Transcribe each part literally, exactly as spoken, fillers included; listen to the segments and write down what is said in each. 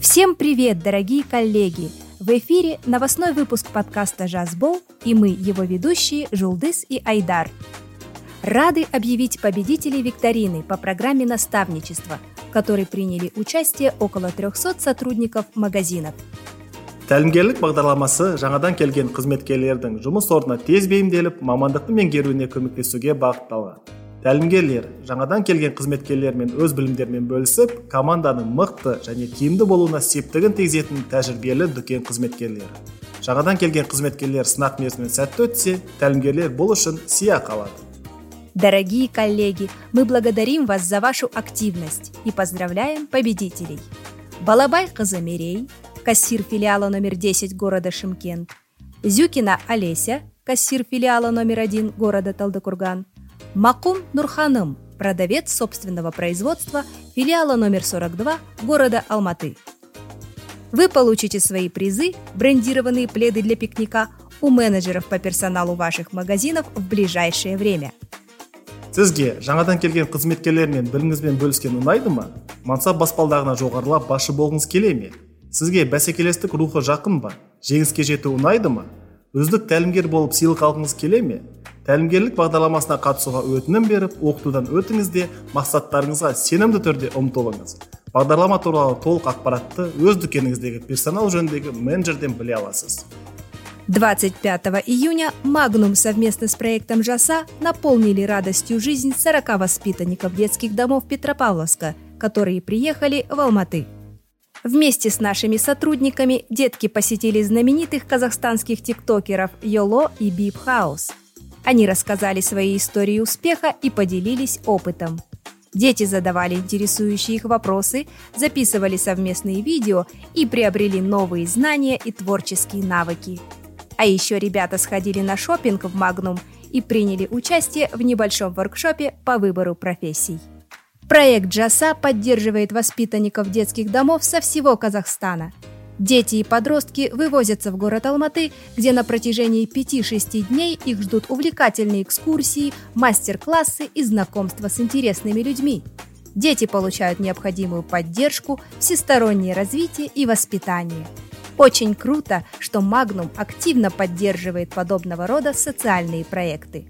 Всем привет, дорогие коллеги! В эфире новостной выпуск подкаста «Жазбол», и мы, его ведущие, Жулдыз и Айдар. Рады объявить победителей викторины по программе наставничества, в которой приняли участие около триста сотрудников магазинов. Тәлімгерлік бағдарламасы жаңадан келген қызметкерлердің жұмыс орнына тез бейімделіп, мамандықты меңгеруіне көмектесуге бағытталған. Тәлімгерлер жаңадан келген қызметкерлермен өз білімдерімен бөлісіп, команданың мықты және тиімді болуына септігін тигізетін тәжірибелі дүкен қызметкерлері. Жаңадан келген қызметкерлер сынақ мерзімінен сәтті өтсе, тәлімгерлер бұл үшін сыйақы алады. Дорогие коллеги, мы благодарим вас за вашу активность и поздравляем победителей. Балабай қызы Мерей, кассир филиала номер десять города Шымкент, Зюкина Олеся, кассир филиала номер один города Талдыкурган, Макум Нурханым, продавец собственного производства филиала номер сорок два города Алматы. Вы получите свои призы, брендированные пледы для пикника, у менеджеров по персоналу ваших магазинов в ближайшее время. Сізге жаңадан келген қызметкерлермен біліңізбен бөліскен ұнайды ма? Мансап баспалдағына жоғарылап басшы болғыңыз келе ме? Сізге бәсекелестік рухы жақын ба? Жеңіске жету ұнайды ма? Үздік тәлімгер болып сыйлық алғыңыз келе ме? Тәлімгерлік бағдарламасына қатысуға өтінім беріп, оқытудан өтіңіз де мақсаттарыңызға сенімді түрде ұмтылыңыз. Бағдарлама туралы толық ақпаратты өз дүкеніңіздегі персонал жөніндегі менеджерден біле аласыз. двадцать пятого июня Magnum совместно с проектом «Жаса» наполнили радостью жизнь сорока воспитанников детских домов Петропавловска, которые приехали в Алматы. Вместе с нашими сотрудниками детки посетили знаменитых казахстанских тиктокеров Йоло и Бип Хаус. Они рассказали свои истории успеха и поделились опытом. Дети задавали интересующие их вопросы, записывали совместные видео и приобрели новые знания и творческие навыки. А еще ребята сходили на шопинг в Magnum и приняли участие в небольшом воркшопе по выбору профессий. Проект «Жаса» поддерживает воспитанников детских домов со всего Казахстана. Дети и подростки вывозятся в город Алматы, где на протяжении пяти-шести дней их ждут увлекательные экскурсии, мастер-классы и знакомства с интересными людьми. Дети получают необходимую поддержку, всестороннее развитие и воспитание. Очень круто, что Magnum активно поддерживает подобного рода социальные проекты.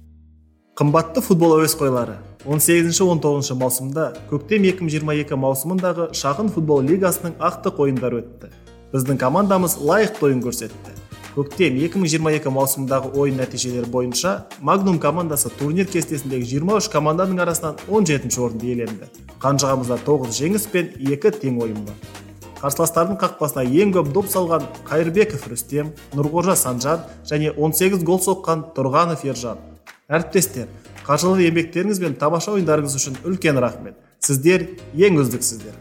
Қымбатты футбол әуесқойлары, он сегізінші он тоғызыншы маусымда көктем екі мың жиырма екі маусымындағы шағын футбол лигасының ақтық ойындары өтті. Біздің командамыз лайықты ойын көрсетті. Көктем екі мың жиырма екі маусымдағы ойын нәтижелері бойынша Magnum командасы турнир кестесіндегі жиырма үш команданың арасынан он жетінші орынды иеленді. Қанжығамызда тоғыз жеңіс пен екі тең ойын бар. Қарсыластардың қақпасына ең көп доп салған Қайырбеков Рүстем, Нұрғожа Санжан және он сегіз гол соққан Тұрғанов Ержан. Әріптестер, қажырлы еңбектеріңіз бен тамаша ойындарыңыз үшін үлкен рахмет. Сіздер ең үздіксіздер.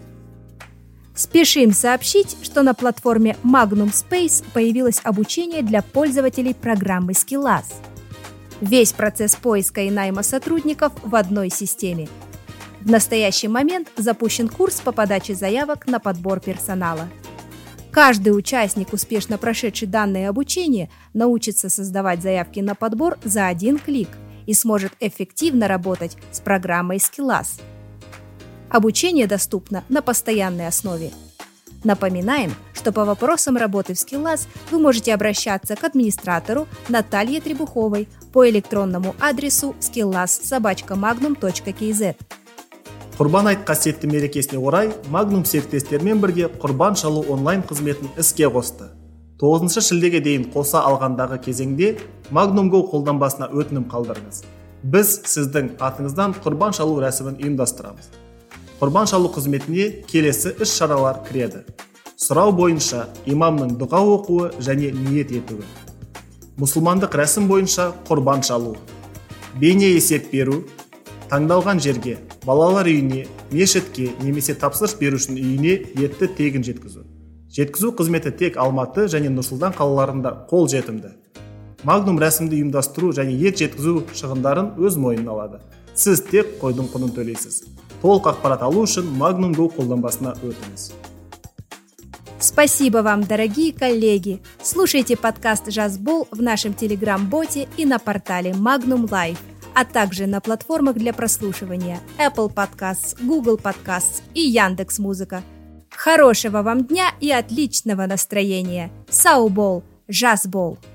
Спешим сообщить, что на платформе Magnum Space появилось обучение для пользователей программы Skillaz. Весь процесс поиска и найма сотрудников в одной системе. В настоящий момент запущен курс по подаче заявок на подбор персонала. Каждый участник, успешно прошедший данное обучение, научится создавать заявки на подбор за один клик и сможет эффективно работать с программой Skillaz. Обучение доступно на постоянной основе. Напоминаем, что по вопросам работы в Skillaz вы можете обращаться к администратору Наталье Требуховой по электронному адресу skillaz собака magnum точка kz. Құрбан айт қасиетті мерекесіне орай Magnum серіктестермен бірге құрбан шалу онлайн қызметін іске қосты. тоғызыншы шілдеге дейін қоса алғандағы кезеңде Magnum Go қолданбасына өтінім қалдырыңыз. Біз сіздің атыңыздан құрбан шалу рәсімін ұйымдастырамыз. Құрбан шалу қызметіне келесі іс шаралар кіреді. Сұрау бойынша имамның дұға оқуы және ниет етуі. Мұсылмандық рәсім бойынша құрбан шалу. Бейне есеп беру. Таңдалған жерге, балалар үйіне, мешітке немесе тапсырыс берушінің үйіне етті тегін жеткізу. Жеткізу қызметі тек Алматы және Нұрсұлтан қалаларында қол жетімді. Magnum рәсімді ұйымдастыру және ет жеткізу шығындарын өз мойнына алады. Сіз тек қойдың құнын төлейсіз. Толық ақпарат алу үшін Magnum Go қолданбасына өтіңіз. Спасибо вам, дорогие коллеги! Слушайте подкаст «Жазбол» в нашем телеграм-боте и на портале Magnum Live, а также на платформах для прослушивания Apple Podcasts, Google Podcasts и Яндекс.Музыка. Хорошего вам дня и отличного настроения. Сау бол, жас бол.